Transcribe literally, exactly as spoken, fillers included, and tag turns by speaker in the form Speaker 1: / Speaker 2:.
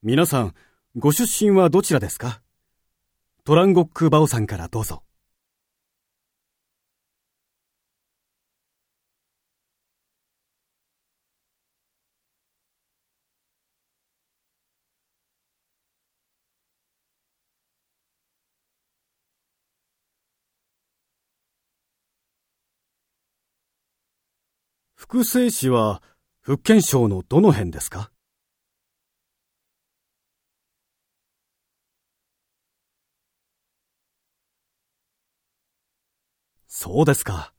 Speaker 1: 皆さん、ご出身はどちらですか？トランゴック・バオさんからどうぞ。福生市は福建省のどの辺ですか？そうですか。